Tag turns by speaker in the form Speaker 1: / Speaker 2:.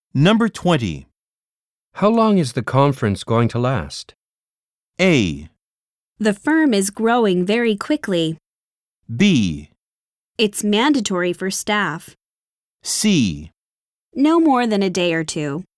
Speaker 1: Number 20.
Speaker 2: How long is the conference going to last?
Speaker 1: A.
Speaker 3: The firm is growing very quickly.
Speaker 1: B.
Speaker 3: It's mandatory for staff.
Speaker 1: C.
Speaker 3: No more than a day or two.